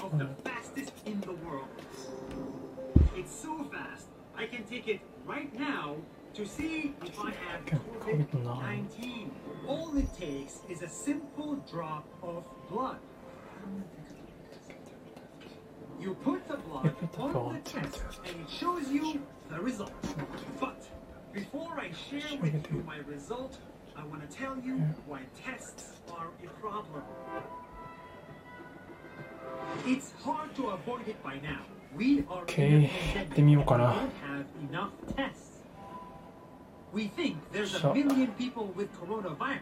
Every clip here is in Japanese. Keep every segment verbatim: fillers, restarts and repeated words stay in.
of the fastest in the world. It's so fast, I can take it right now to see if I have COVID nineteen. All it takes is a simple drop of blood. You put the blood on the test and it shows you the result. But before I share with you my result, I want to tell you why tests are a problem. It's hard to avoid it by now. We are in a pandemic and we don't have enough tests. We think there's a million people with coronavirus.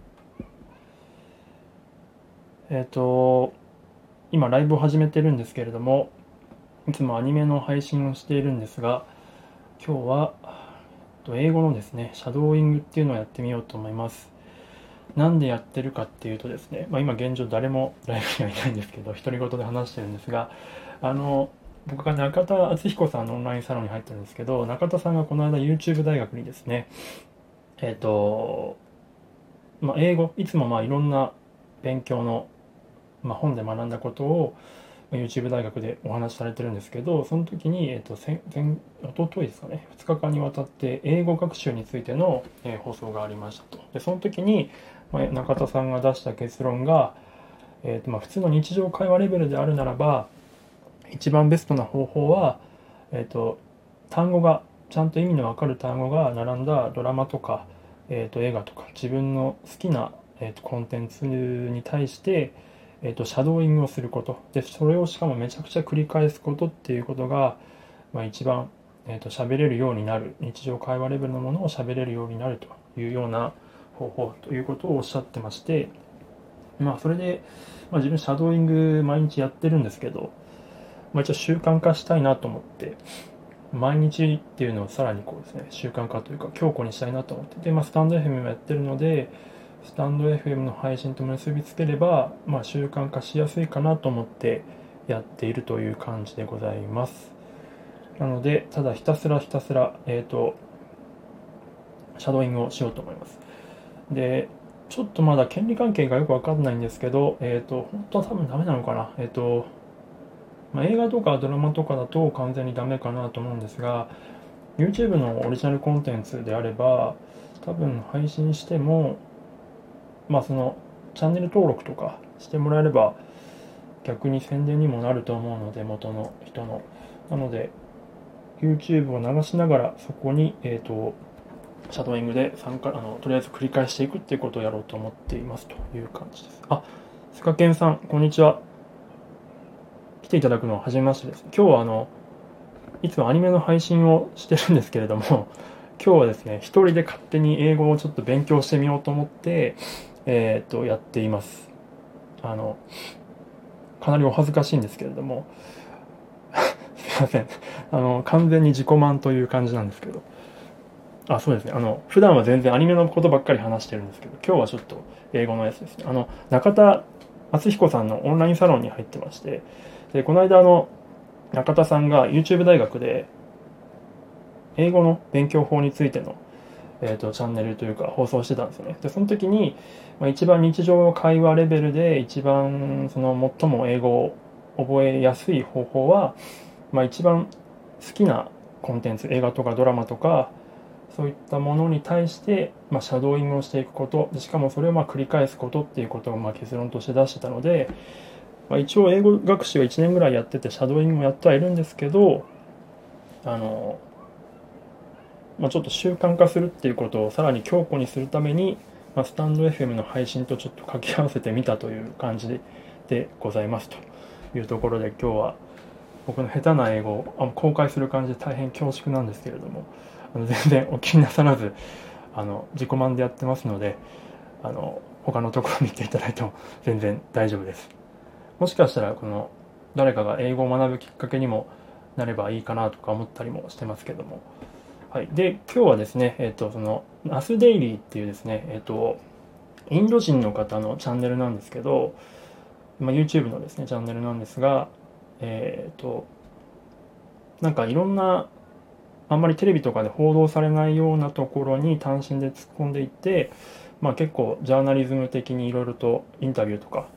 えっと今ライブを始めてるんですけれども、いつもアニメの配信をしているんですが、今日は英語のですねシャドーイングっていうのをやってみようと思います。なんでやってるかっていうとですね、まあ、今現状誰もライブにはいないんですけど独り言で話してるんですが、あの僕が中田敦彦さんのオンラインサロンに入ってるんですけど、中田さんがこの間 YouTube 大学にですね、えっと、まあ、英語いつもまあいろんな勉強の、まあ、本で学んだことを YouTube 大学でお話しされてるんですけど、その時に、えっと、前一昨日ですかね、ふつかかんにわたって英語学習についての、えー、放送がありましたと。でその時に、まあ、中田さんが出した結論が、えーとまあ、普通の日常会話レベルであるならば一番ベストな方法は、えーと、単語がちゃんと意味のわかる単語が並んだドラマとか、えーと、映画とか自分の好きな、えーと、コンテンツに対して、えーと、シャドーイングをすることで、それをしかもめちゃくちゃ繰り返すことっていうことが、まあ、一番、えーと、喋れるようになる、日常会話レベルのものを喋れるようになるというような方法ということをおっしゃってまして、まあそれで、まあ、自分シャドーイング毎日やってるんですけど、まあ、一応習慣化したいなと思って毎日っていうのをさらにこうですね習慣化というか強固にしたいなと思ってで、まあ、スタンド エフエム もやってるのでスタンド エフエム の配信と結びつければ、まあ、習慣化しやすいかなと思ってやっているという感じでございます。なのでただひたすらひたすら、えーと、シャドーイングをしようと思います。でちょっとまだ権利関係がよくわかんないんですけど、えっと、本当は多分ダメなのかな。えっと、まあ、映画とかドラマとかだと完全にダメかなと思うんですが、YouTube のオリジナルコンテンツであれば、多分配信しても、まあその、チャンネル登録とかしてもらえれば、逆に宣伝にもなると思うので、元の人の。なので、YouTube を流しながら、そこに、えっと、シャドーイングで参加あのとりあえず繰り返していくっていうことをやろうと思っていますという感じです。あ、スカケンさんこんにちは。来ていただくのは初めましてです。今日はあのいつもアニメの配信をしてるんですけれども、今日はですね一人で勝手に英語をちょっと勉強してみようと思ってえっとやっています。あのかなりお恥ずかしいんですけれどもすいません、あの完全に自己満という感じなんですけど。あ、そうですね。あの、普段は全然アニメのことばっかり話してるんですけど、今日はちょっと英語のやつですね。あの、中田敦彦さんのオンラインサロンに入ってまして、で、この間あの、中田さんが YouTube 大学で、英語の勉強法についての、えっと、チャンネルというか放送してたんですよね。で、その時に、まあ、一番日常会話レベルで一番、その、最も英語を覚えやすい方法は、まあ、一番好きなコンテンツ、映画とかドラマとか、そういったものに対して、まあ、シャドーイングをしていくこと、しかもそれをまあ繰り返すことっていうことをまあ結論として出してたので、まあ、一応英語学習はいちねんぐらいやってて、シャドーイングもやってはいるんですけど、あの、まあ、ちょっと習慣化するっていうことをさらに強固にするために、まあ、スタンド エフエム の配信とちょっと掛け合わせてみたという感じでございますというところで、今日は僕の下手な英語を公開する感じで大変恐縮なんですけれども、あの全然お気になさらずあの自己満でやってますので、あの他のところ見ていただいても全然大丈夫です。もしかしたらこの誰かが英語を学ぶきっかけにもなればいいかなとか思ったりもしてますけども、はい。で今日はですね、えっとそのナスデイリーっていうですね、えっとインド人の方のチャンネルなんですけど、まあ、YouTube のですねチャンネルなんですが、えっとなんかいろんなあんまりテレビとかで報道されないようなところに単身で突っ込んでいって、まあ、結構ジャーナリズム的にいろいろとインタビューとか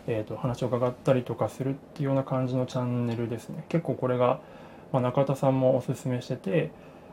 えーと、話を伺ったりとかするっていうような感じのチャンネルですね。結構これが、まあ、中田さんもおすすめしてて、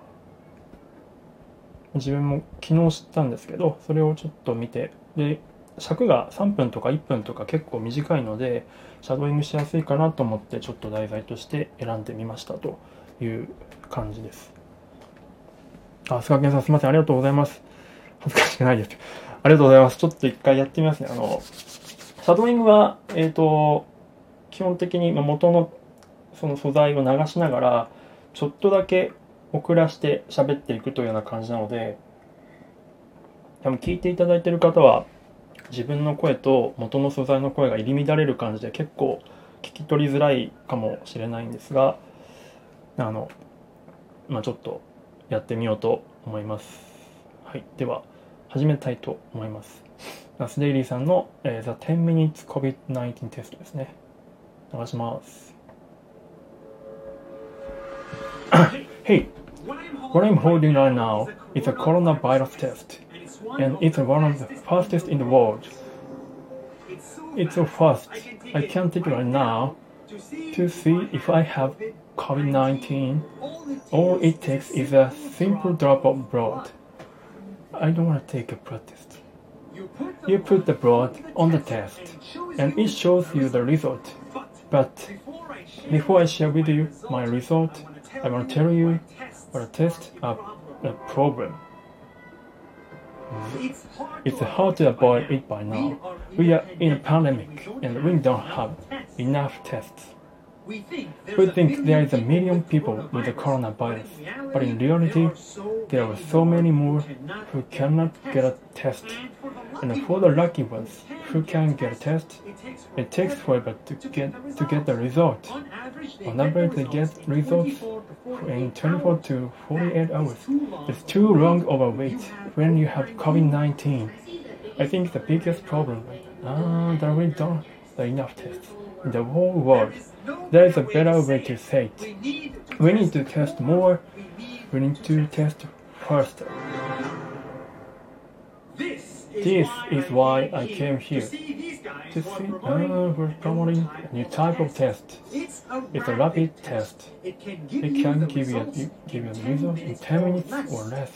自分も昨日知ったんですけど、それをちょっと見て、で尺がさんぷんとかいっぷんとか結構短いのでシャドーイングしやすいかなと思ってちょっと題材として選んでみましたという感じです。あ、菅健さんすみません、ありがとうございます。恥ずかしくないです。ありがとうございます。ちょっと一回やってみますね。あのシャドーイングは、えーと、基本的に元のその素材を流しながらちょっとだけ遅らして喋っていくというような感じなので、多分聞いていただいている方は自分の声と元の素材の声が入り乱れる感じで結構聞き取りづらいかもしれないんですが、あの、まあ、ちょっとやってみようと思います。はい、では始めたいと思います。ナスデイリーさんの、えー、The テン minutes コビッドナインティーン テストですね。流します。Hey, what I'm holding right now is a coronavirus test, and it's one of the fastest in the world. It's so fast, I can't take it right now to see if I have COVID nineteen. All it takes is a simple drop of blood. I don't want to take a blood test. You put the blood on the test, and it shows you the result. But before I share with you my result, I want to tell you what a test are a problem. It's hard to avoid it by now. We are in a pandemic and we don't have enough tests. We think there is a million people with the coronavirus, but in reality, there are so many more who cannot get a test. And for the lucky ones who can get a test, it takes forever to get to get the result. On average, they get results in twenty-four to forty-eight hours. It's too long of a wait when you have COVID nineteen. I think the biggest problem is uh, that we don't have enough tests in the whole world. There is a better way to say it. We need to test more. We need to test faster. This is why I came here. To see, uh, we're promoting a new type of test. It's a rapid test. It can give you a, give you a result in ten minutes or less.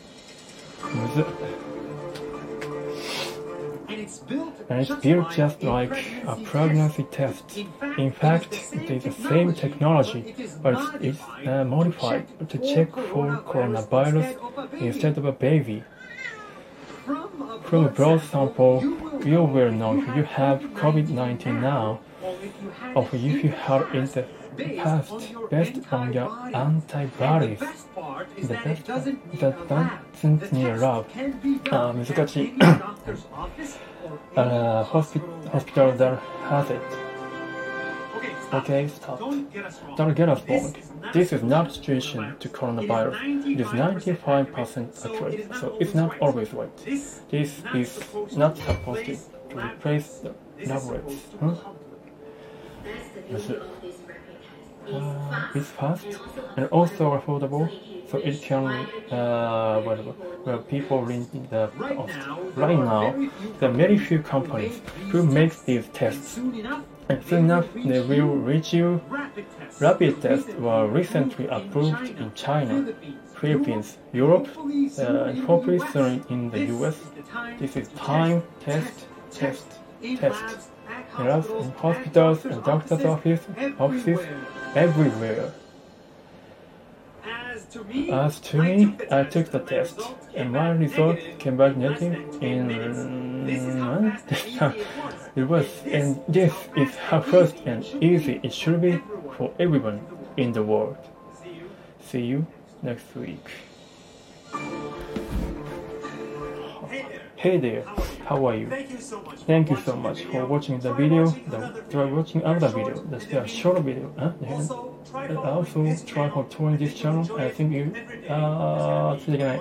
And it's built just like a pregnancy test. In fact, it is the same technology, but it's, it's uh, modified to check for coronavirus instead of a baby. From a blood sample, you will know if you have COVID nineteen now, or if you had it in the past, based on your antibodies. The best part is that doesn't need a lab. あー、難しい。uh, hospital, hospital that has it. Okay, stop. Don't get us wrong. This is not a situation to coronavirus. It is ninety-five percent accurate, so it's not always right. This is not supposed to replace the laboratories. Huh? Uh, it's fast and also affordable, so it can uh, whatever. Well, people in the cost. Right now, there are very few companies who make these tests. And soon enough, they will reach you. Rapid tests were recently approved in China, Philippines, Europe, uh, and hopefully soon in the U S. This is time, test, test, test. Labs in hospitals and doctors' office, offices everywhere. As to me, I took the test, and my result came back negative in it was, and this is how fast and easy it should be for everyone in the world. See you next week. Hey there, how are you? Thank you so much for watching the video. The, try watching other video. That's a short video. Huh? And also try for touring this channel. I think you. Uh,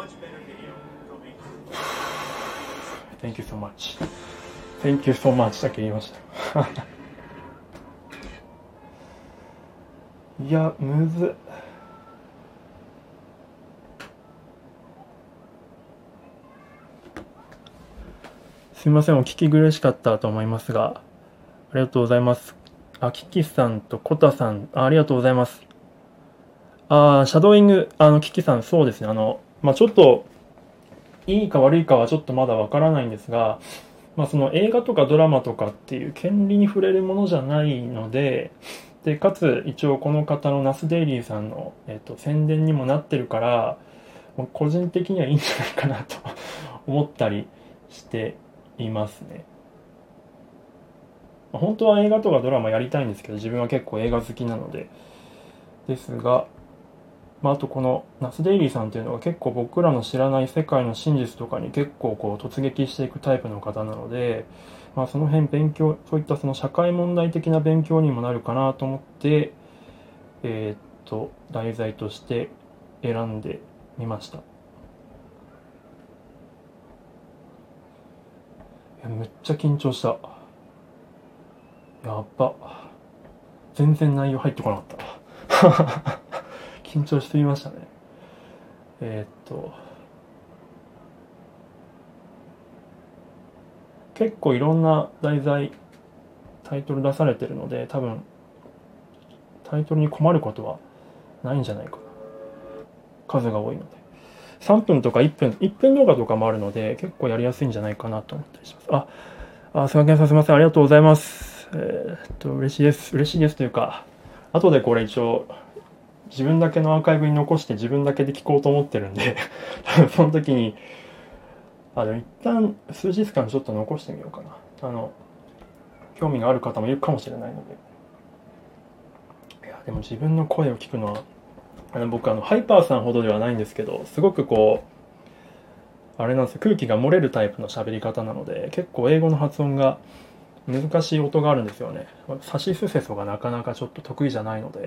Thank you so much. Thank you so much だけ言いましたいや、むずっ。すみません、お聞き苦しかったと思いますが、ありがとうございます。あ、キキさんとコタさん、あ、ありがとうございます。あー、シャドーイング、あの、キキさん、そうですね。あの、まあちょっと、いいか悪いかはちょっとまだわからないんですが、まあその映画とかドラマとかっていう権利に触れるものじゃないので、で、かつ一応この方のナスデイリーさんの、えっと、宣伝にもなってるから、もう個人的にはいいんじゃないかなと思ったりしていますね。まあ本当は映画とかドラマやりたいんですけど、自分は結構映画好きなので、ですが、まあ、あとこのナスデイリーさんっていうのは結構僕らの知らない世界の真実とかに結構こう突撃していくタイプの方なので、まあ、その辺勉強、そういったその社会問題的な勉強にもなるかなと思って、えーっと、題材として選んでみました。いや、めっちゃ緊張した。やっぱ、全然内容入ってこなかった。緊張しすぎましたね。えーっと、結構いろんな題材、タイトル出されてるので、多分、タイトルに困ることはないんじゃないかな。数が多いので。さんぷんとかいっぷん、いっぷん動画とかもあるので、結構やりやすいんじゃないかなと思ったりします。あ、あ、すみません、すみません、ありがとうございます。えーっと、嬉しいです。嬉しいですというか、後でこれ一応、自分だけのアーカイブに残して自分だけで聞こうと思ってるんで、その時に、あ、でも一旦数日間ちょっと残してみようかな。あの、興味がある方もいるかもしれないので。いや、でも自分の声を聞くのは、あの僕あのハイパーさんほどではないんですけど、すごくこうあれなんですよ、空気が漏れるタイプの喋り方なので、結構英語の発音が難しい音があるんですよね。サシスセソがなかなかちょっと得意じゃないので、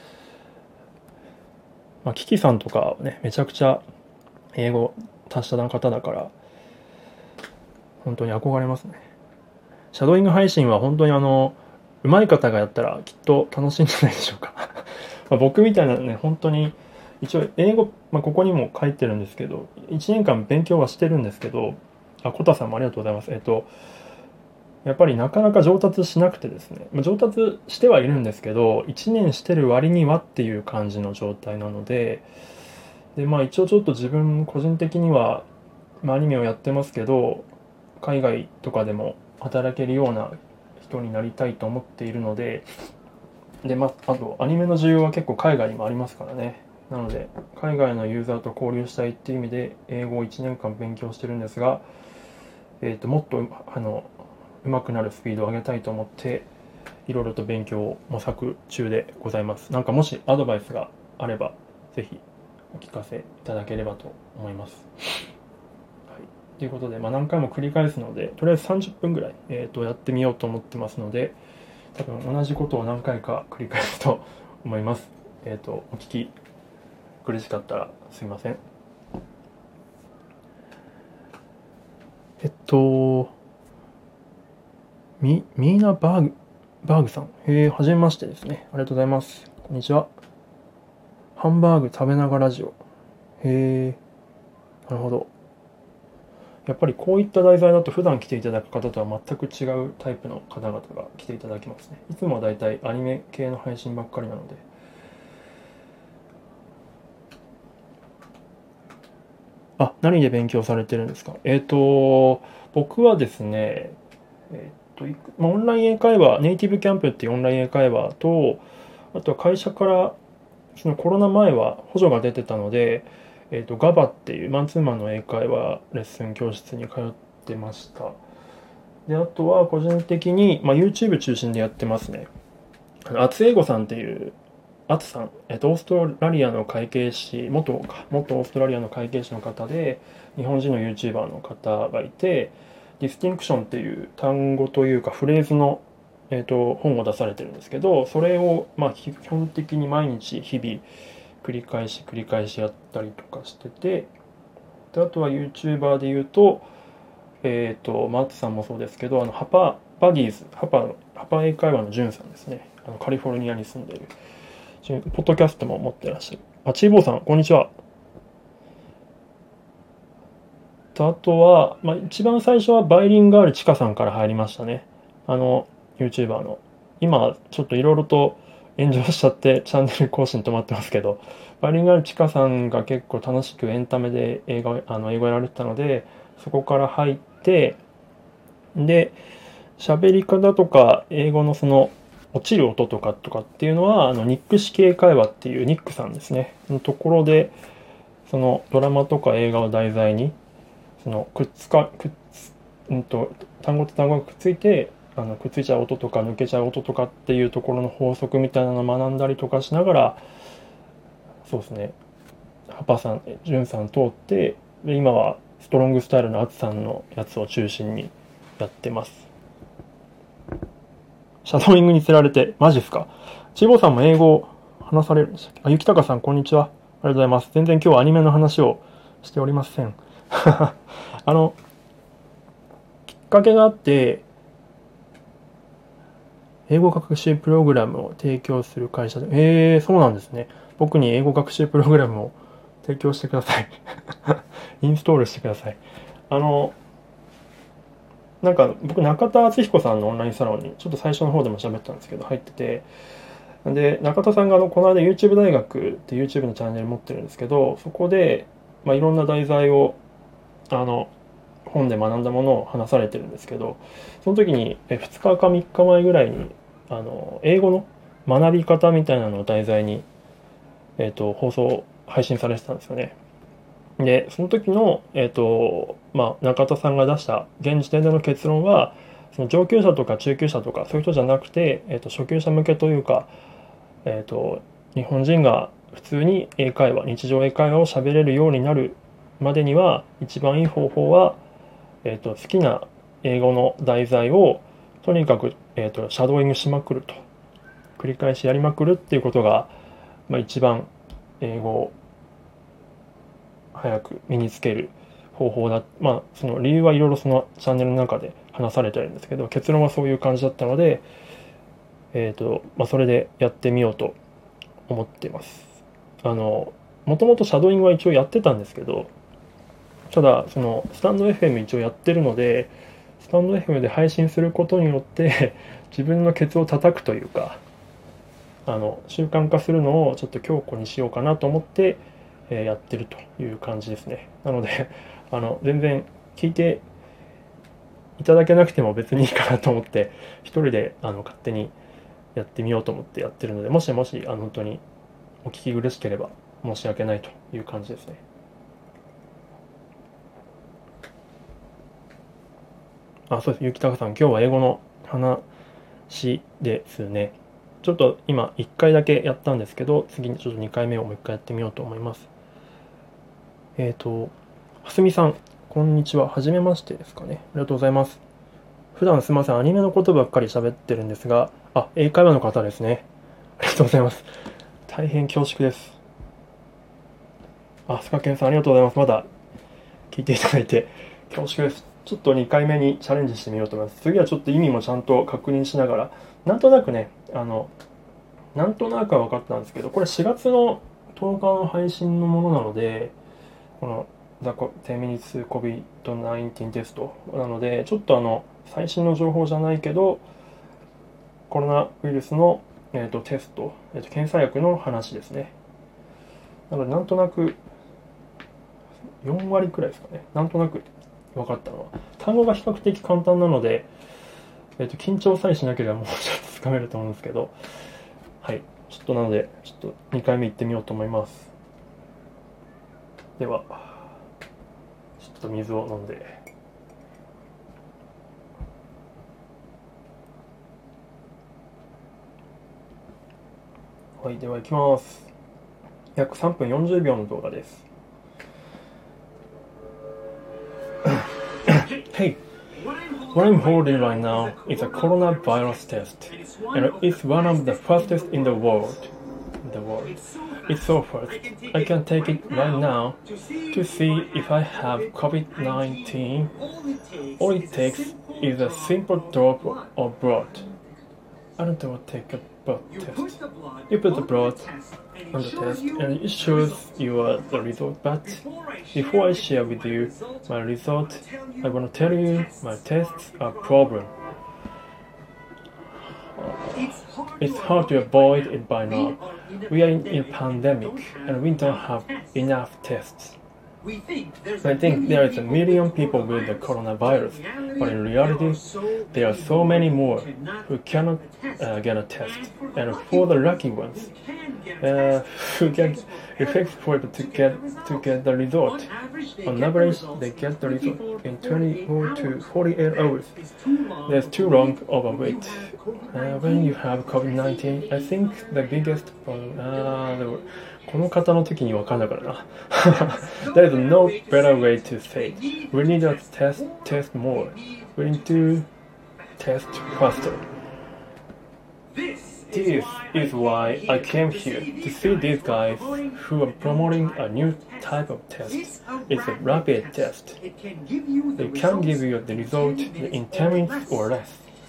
まあ、キキさんとかはね、めちゃくちゃ英語達者な方だから本当に憧れますね。シャドーイング配信は本当にあの上手い方がやったらきっと楽しいんじゃないでしょうか。まあ僕みたいなね、本当に一応英語、まあ、ここにも書いてるんですけど、いちねんかん勉強はしてるんですけど、あ、コタさんもありがとうございます。えっと、やっぱりなかなか上達しなくてですね、まあ、上達してはいるんですけど、いちねんしてる割にはっていう感じの状態なので、で、まあ一応ちょっと自分個人的には、まあ、アニメをやってますけど、海外とかでも働けるような人になりたいと思っているので、で、まあ、あとアニメの需要は結構海外にもありますからね。なので海外のユーザーと交流したいっていう意味で英語をいちねんかん勉強してるんですが、えー、ともっとあの上手くなるスピードを上げたいと思っていろいろと勉強を模索中でございます。なんかもしアドバイスがあればぜひお聞かせいただければと思います。はい、ということで、まあ、何回も繰り返すのでとりあえずさんじゅっぷんぐらい、えー、とやってみようと思ってますので、多分同じことを何回か繰り返すと思います。えっ、ー、とお聞き苦しかったらすみません。えっとミミーナバーグバーグさん、へえ、はじめましてですね。ありがとうございます。こんにちは。ハンバーグ食べながらラジオ。へえ、なるほど。やっぱりこういった題材だと普段来ていただく方とは全く違うタイプの方々が来ていただきますね。いつもはだいたいアニメ系の配信ばっかりなので。あ、何で勉強されてるんですか？えっと、僕はですね、えっと、いくまあオンライン英会話、ネイティブキャンプっていうオンライン英会話と、あとは会社からそのコロナ前は補助が出てたので、えっと、ガバっていうマンツーマンの英会話レッスン教室に通ってました。で、あとは個人的に、まあ、YouTube 中心でやってますね。あの、厚英語さんっていうアツさん、えっと、オーストラリアの会計士、元か、元オーストラリアの会計士の方で、日本人の YouTuber の方がいて、ディスティンクションっていう単語というかフレーズの、えっと、本を出されてるんですけど、それを、まあ、基本的に毎日、日々、繰り返し繰り返しやったりとかしてて、であとは YouTuber で言うと、えっと、マーツさんもそうですけど、あの、ハパ、バギーズ、ハパ、ハパ英会話のジュンさんですね。あのカリフォルニアに住んでいる。ポッドキャストも持ってらっしゃる。あ、チーボーさん、こんにちは。とあとは、まあ、一番最初はバイリンガールチカさんから入りましたね。あの、 YouTuber の。今、ちょっといろいろと炎上しちゃってチャンネル更新止まってますけど、バイリンガルチカさんが結構楽しくエンタメで映画、あの英語やられてたので、そこから入って、で、喋り方とか英語のその落ちる音とかとかっていうのは、あのニック式英会話っていうニックさんですね、のところで、そのドラマとか映画を題材に、そのくっつか、くっつ、うんと、単語と単語がくっついて、あのくっついちゃう音とか抜けちゃう音とかっていうところの法則みたいなのを学んだりとかしながら、そうですね、ハパさん、ジュンさん通って、で今はストロングスタイルのアツさんのやつを中心にやってます。シャドーイングにつられて、マジっすか。チーボーさんも英語を話されるんでしたっけ。あ、ゆきたかさん、こんにちは。ありがとうございます。全然今日はアニメの話をしておりません。あの、きっかけがあって、英語学習プログラムを提供する会社で、えー、そうなんですね。僕に英語学習プログラムを提供してください。インストールしてください。あの、なんか僕、中田敦彦さんのオンラインサロンに、ちょっと最初の方でも喋ったんですけど、入ってて、で、中田さんがあのこの間 YouTube 大学って YouTube のチャンネル持ってるんですけど、そこで、まあ、いろんな題材を、あの、本で学んだものを話されてるんですけど、その時にふつかかみっかまえぐらいに、あの、英語の学び方みたいなのを題材に、えっと、放送、配信されてたんですよね。で、その時の、えっと、まあ、中田さんが出した現時点での結論は、その上級者とか中級者とかそういう人じゃなくて、えっと、初級者向けというか、えっと、日本人が普通に英会話、日常英会話を喋れるようになるまでには、一番いい方法は、えっと、好きな英語の題材をとにかく、えっと、シャドーイングしまくると。繰り返しやりまくるっていうことが、まあ、一番英語を早く身につける方法だ。まあ、その理由はいろいろそのチャンネルの中で話されてるんですけど、結論はそういう感じだったので、えっと、まあ、それでやってみようと思っています。あの、もともとシャドーイングは一応やってたんですけど、ただ、その、スタンド エフエム 一応やってるので、スタンド エフエム で配信することによって、自分のケツを叩くというか、あの、習慣化するのをちょっと強固にしようかなと思って、えーやってるという感じですね。なので、あの、全然聞いていただけなくても別にいいかなと思って、一人であの勝手にやってみようと思ってやってるので、もしもし、あの、本当にお聞き苦しければ申し訳ないという感じですね。あ、そうです。ゆきたかさん、今日は英語の話ですね。ちょっと今いっかいだけやったんですけど、次にちょっとにかいめをもういっかいやってみようと思います。えっと、はすみさん、こんにちは。はじめましてですかね。ありがとうございます。普段すみません、アニメのことばっかり喋ってるんですが、あ、英会話の方ですね。ありがとうございます。大変恐縮です。あ、スカケンさん、ありがとうございます。まだ聞いていただいて恐縮です。ちょっとにかいめにチャレンジしてみようと思います。次はちょっと意味もちゃんと確認しながら、なんとなくね、あの、なんとなくは分かったんですけど、これしがつのとおかの配信のものなので、この The ten minutes コビッドナインティーン テストなので、ちょっとあの、最新の情報じゃないけど、コロナウイルスの、えーと、テスト、えーと、検査薬の話ですね。なので、なんとなく、よんわりくらいですかね。なんとなく分かったのは。単語が比較的簡単なので、えーと、緊張さえしなければもうちょっとつかめると思うんですけど、はい。ちょっとなので、ちょっとにかいめ行ってみようと思います。では、ちょっと水を飲んで。はい、では行きます。約さんぷんよんじゅうびょうの動画です。Hey, what I'm holding right now is a coronavirus test, and it's one of the fastest in the world. The world. It's so fast. I can take it right now to see if I have COVID nineteen. All it takes is a simple drop of blood. I don't want to take a blood test. You put the blood on the test and it shows you uh, the result, but before I share with you my result, I want to tell you my tests are problem. it's hard to avoid it by now. We are in a pandemic and we don't have enough tests. I think there is a million people with the coronavirus, but in reality, there are so many more who cannot uh, get a test. And for the lucky ones, uh, who get effects for it to get to get the result. On average, they get the result in twenty-four to forty-eight hours. That's too long of a wait. Uh, when you have COVID nineteen, I think the biggest problem. Uh, the, この方の時に分かんなかったな。There is no better way to say it. We need to test, test more. We need to test faster. This is why I came here, to see these guys who are promoting a new type of test. It's a rapid test. They can give you the result in ten minutes or less.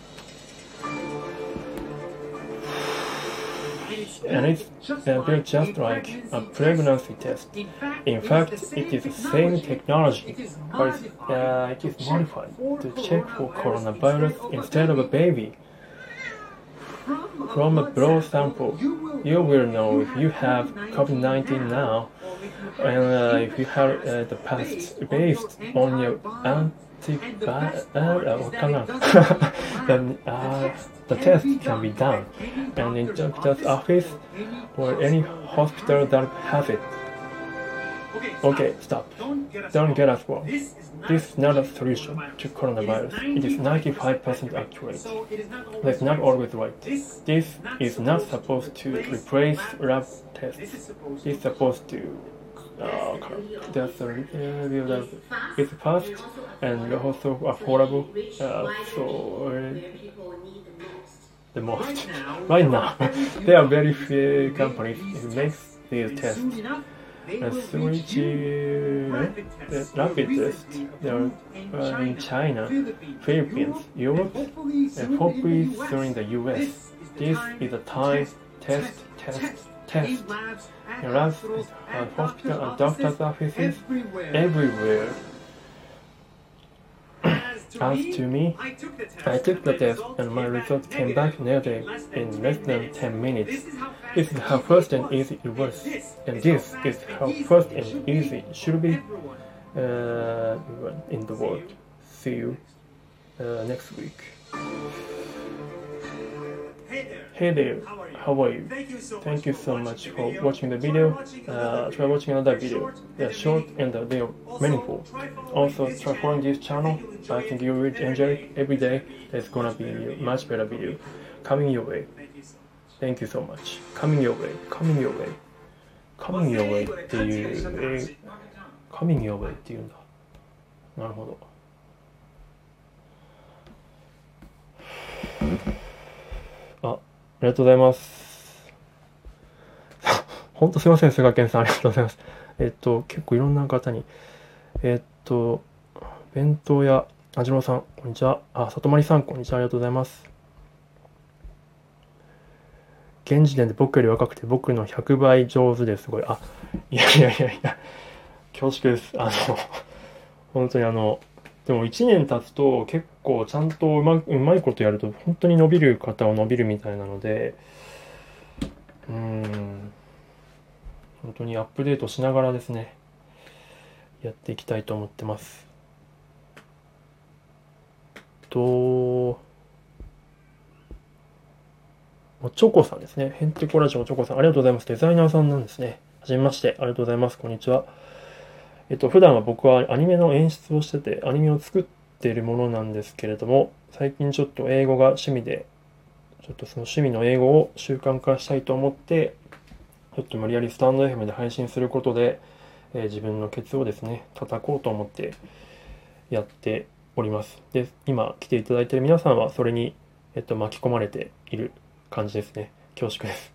And it's uh, built just like a pregnancy test. In fact, it is the same technology, but uh, it is modified to check for coronavirus instead of a baby. From a blood sample, you will know if you have COVID nineteen now, and uh, if you have uh, the past based on your antibody. Uh, then uh, the test can be done, and in the doctor's office or any hospital that has it. Okay, stop. Don't get us wrong. This is not a solution to coronavirus. It is ninety-five percent accurate. That's not always right. This is not supposed to replace lab tests. It's supposed to uh, that's a, uh, it's fast and also affordable. Uh, so uh, the most right now there are very few companies who make these tests. A switch uh, rapid test. They are uh, in China, Philippines, Europe, and hopefully soon in the U S. This is a time test, test, test. In labs, and hospital and doctor's offices, everywhere. As to me, I took the test and my result came back negative in less than ten minutes. This is how fast and easy it was, and this is how fast and easy it should be uh, in the world. See you uh, next week. Hey there, how are you? Thank you so much for watching the video. Uh, try watching another video. They are short and they are meaningful. Also, try following this channel. I think you will enjoy it every day. There's gonna be a much better video coming your way. Thank you so much. Coming your way, coming your way, coming your way っていう、えー、coming your way っていうんだ。なるほど。あ、ありがとうございます。本当すいません、菅健さんありがとうございます。えっと、結構いろんな方に、えっと、弁当屋、あじろうさん、こんにちは。あ、里まりさん、こんにちは。ありがとうございます。現時点で僕より若くて僕のひゃくばい上手です。すごい。あ、いやいやいやいや、恐縮です。あの、本当にあの、でもいちねん経つと結構ちゃんとうま、うまいことやると本当に伸びる方は伸びるみたいなので、うーん、本当にアップデートしながらですね、やっていきたいと思ってます。と、おちょこさんですね。ヘンテコラジオおちょこさん、ありがとうございます。デザイナーさんなんですね。はじめまして、ありがとうございます。こんにちは。えっと、普段は僕はアニメの演出をしてて、アニメを作っているものなんですけれども、最近ちょっと英語が趣味で、ちょっとその趣味の英語を習慣化したいと思って、ちょっと無理やりスタンド エフエム で配信することで、えー、自分のケツをですね、叩こうと思ってやっております。で、今来ていただいている皆さんはそれに、えっと、巻き込まれている感じですね。恐縮です。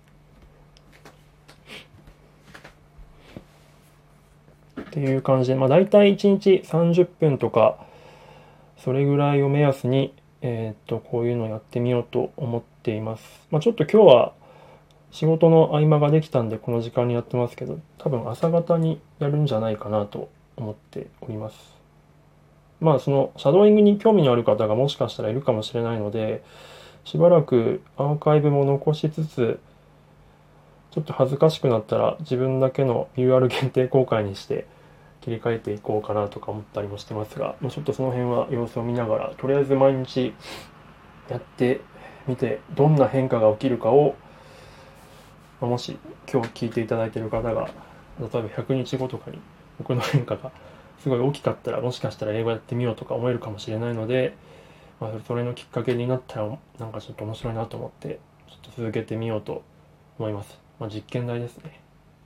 っていう感じで、まあ大体いちにちさんじゅっぷんとか、それぐらいを目安に、えー、っと、こういうのをやってみようと思っています。まあちょっと今日は仕事の合間ができたんで、この時間にやってますけど、多分朝方にやるんじゃないかなと思っております。まあその、シャドーイングに興味のある方がもしかしたらいるかもしれないので、 しばらくアーカイブも残しつつ、ちょっと恥ずかしくなったら自分だけの ユーアール 限定公開にして切り替えていこうかなとか思ったりもしてますが、もうちょっとその辺は様子を見ながら、とりあえず毎日やってみて、どんな変化が起きるかを、もし今日聞いていただいている方が、例えばひゃくにちごとかに僕の変化がすごい大きかったら、もしかしたら英語やってみようとか思えるかもしれないので、まあ、それのきっかけになったらなんかちょっと面白いなと思ってちょっと続けてみようと思います。まあ、実験台ですね。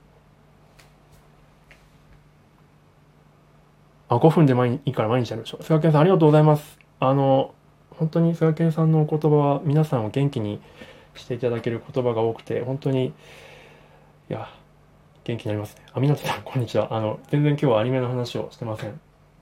あ、ごふんで毎いいから毎日やるでしょ。菅健さんありがとうございます。あの本当に菅健さんのお言葉は皆さんを元気にしていただける言葉が多くて、本当にいや元気になりますね。あ、みなとさんこんにちは。あの全然今日はアニメの話をしてません。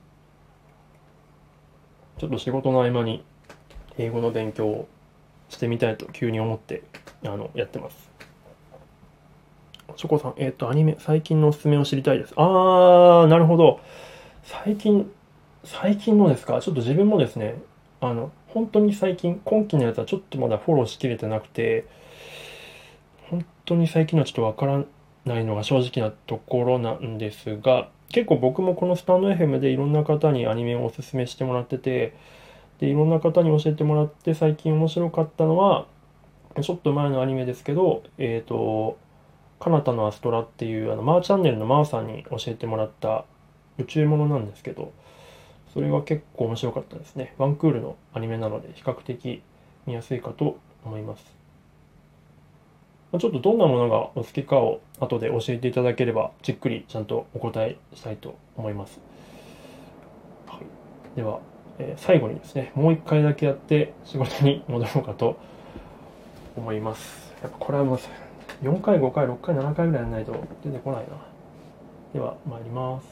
ちょっと仕事の合間に英語の勉強をしてみたいと急に思ってあのやってます。チョコさん、えっとアニメ最近のおすすめを知りたいです。あー、なるほど。最近最近のですか。ちょっと自分もですね、あの本当に最近今期のやつはちょっとまだフォローしきれてなくて、本当に最近のはちょっとわからないのが正直なところなんですが、結構僕もこのスタンド エフエム でいろんな方にアニメをおすすめしてもらってて、でいろんな方に教えてもらって最近面白かったのはちょっと前のアニメですけど、えっと彼方のアストラっていうあのマーチャンネルのマーさんに教えてもらった宇宙ものなんですけど、それが結構面白かったですね。ワンクールのアニメなので比較的見やすいかと思います。ちょっとどんなものがお好きかを後で教えていただければじっくりちゃんとお答えしたいと思います。はい、では、えー、最後にですね、もう一回だけやって仕事に戻ろうかと思います。やっぱこれはもうよんかい、ごかい、ろっかい、ななかいぐらいやらないと出てこないな。では参ります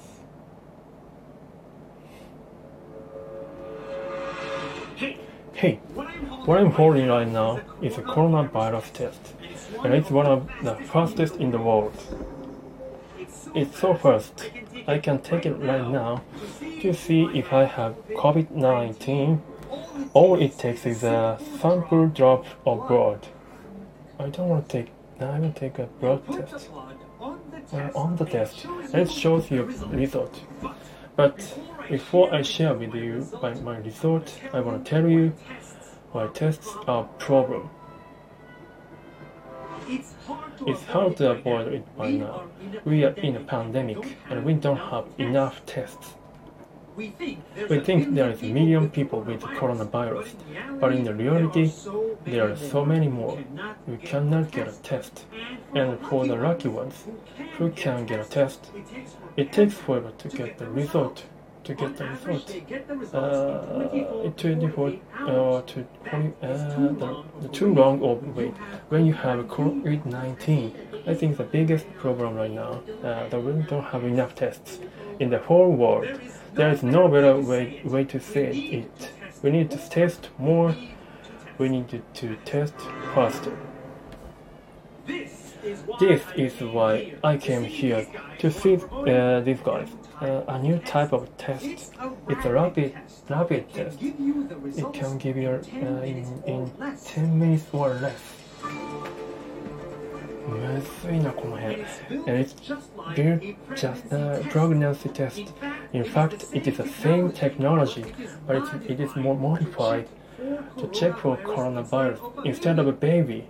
。Hey, what I'm holding right now is a coronavirus test, and it's one of the fastest in the world. It's so fast, I can take it right now to see if I have COVID nineteen. All it takes is a sample drop of blood. I don't want to take, I will take a blood test. Uh, on the test, and it shows your result. But before I share with you my, my result, I want to tell you my tests are a problem. It's hard to avoid it by now. We are in a pandemic and we don't have enough tests. We think there is a million people with coronavirus, but in the reality, there are so many more. We cannot get a test. And for the lucky ones who can get a test, it takes forever to get the result. To get the result, uh, it twenty-four uh, to twenty, uh, the, the too long of wait when you have COVID nineteen. I think the biggest problem right now uh, that we don't have enough tests in the whole world. There is no better way way to say it. We need to test more. We need to, to test faster. This is why I came here to see uh, these guys. Uh, a new type of test. It's a rapid, rapid test. It can give you uh, in, in ten minutes or less. むずいなこの辺。And it's built just a pregnancy test. In fact, it is the same technology, but it's, it is more modified to check for coronavirus instead of a baby.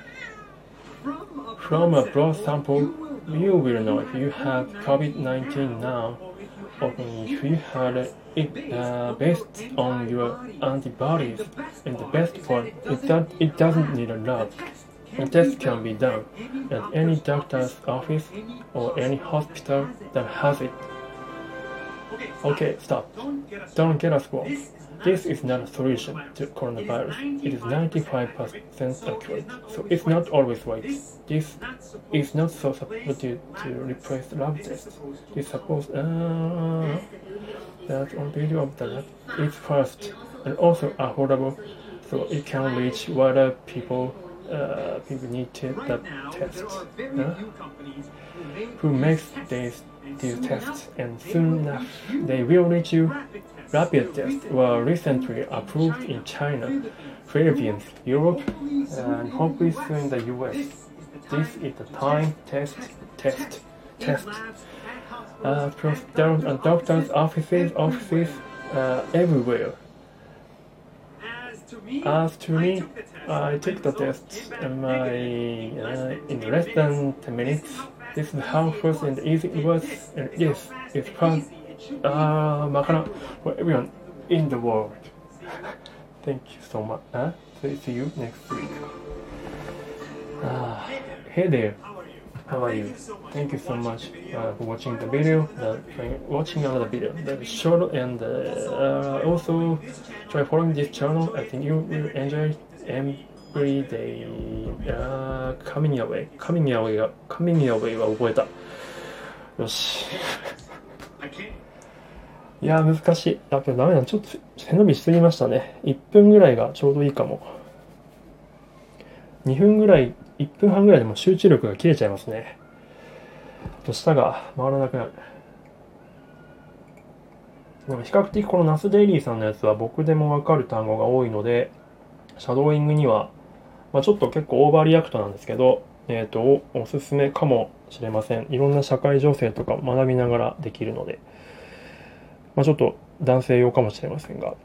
From a blood sample, you will know if you have COVID nineteen now, or if you had it uh, based on your antibodies. And the best part is that it doesn't need a lab. The test can be done at any doctor's office or any hospital that has it. Okay, stop. Don't get us wrong. This is not a solution to coronavirus. It is ninety-five percent accurate, so it's not always right. This is not so supposed to, to replace lab tests. It's supposed uh, that on video of the lab is fast and also affordable, so it can reach wider people. Uh, people need to the tests. Huh? Who makes these these tests, and soon enough they will reach you. rapid tests were recently approved in China, Philippines, Europe, and hopefully soon in the U S. This is the time test, test, test. Uh, plus down, uh, doctors' offices, offices, uh, everywhere. As to me, I took the test and my, uh, in less than ten minutes. This is how fast and easy it was, and yes, it's fun. Uh, Makana, for everyone in the world. Thank you so much. Uh, see you next week. Uh, hey there. How are you? Thank you so much uh, for watching the video, uh, watching another video. That is short, and uh, uh, also try following this channel. I think you will enjoy every day. Uh, coming your way, coming your way, coming your way は覚えた。よし。いやー難しい。やっぱダメだ。ちょっと背伸びしすぎましたね。いっぷんぐらいがちょうどいいかも。にふんぐらい、いっぷんはんぐらいでも集中力が切れちゃいますね。と舌が回らなくなる。でも比較的このナスデイリーさんのやつは僕でもわかる単語が多いので、シャドーイングには、まあ、ちょっと結構オーバーリアクトなんですけど、えっと、お、おすすめかもしれません。いろんな社会情勢とか学びながらできるので、まあ、ちょっと男性用かもしれませんが。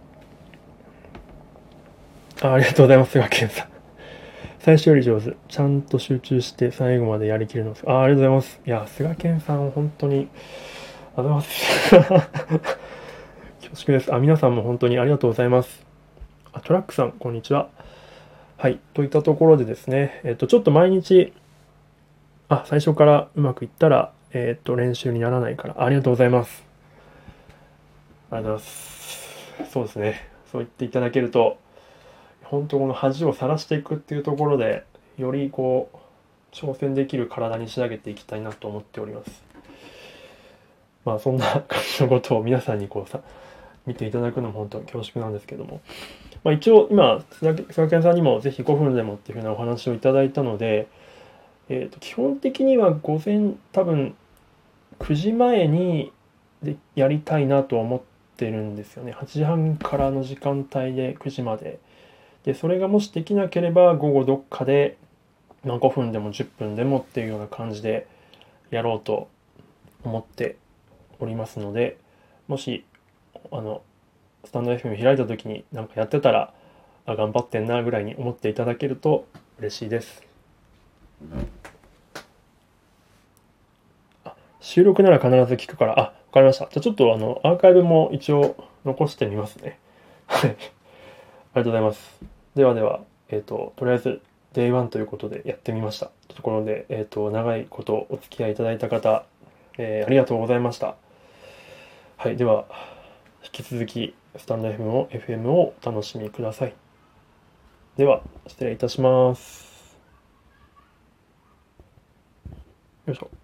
あ、ありがとうございます、菅健さん。最初より上手。ちゃんと集中して最後までやりきるのです。あ、ありがとうございます。いや、菅健さん、本当に、ありがとうございます。恐縮です。あ、皆さんも本当にありがとうございます。あ、トラックさん、こんにちは。はい。といったところでですね、えっと、ちょっと毎日、あ、最初からうまくいったら、えっと、練習にならないから、ありがとうございます。ありがとうございます。そうですね。そう言っていただけると、本当この恥をさらしていくっていうところで、よりこう、挑戦できる体に仕上げていきたいなと思っております。まあ、そんな感じのことを皆さんにこうさ、見ていただくのも本当に恐縮なんですけども。まあ、一応、今、菅健さんにもぜひごふんでもっていうふうなお話をいただいたので、えっと、基本的には午前、多分、くじまえにでやりたいなと思ってるんですよね。はちじはんからの時間帯でくじまで。で、それがもしできなければ午後どっかで、まあ、ごふんでもじゅっぷんでもっていうような感じでやろうと思っておりますので、もし、あの、スタンド エフエム 開いた時になんかやってたら、あ、頑張ってんなぐらいに思っていただけると嬉しいです。あ、収録なら必ず聞くから、あ、わかりました。じゃあちょっとあの、アーカイブも一応残してみますね。はい。ありがとうございます。ではでは、えっと、とりあえず、デイワン ということでやってみました。ところで、えっと、長いことお付き合いいただいた方、えー、ありがとうございました。はい、では、引き続き、スタンド エフエム を、エフエム をお楽しみください。では、失礼いたします。よいしょ。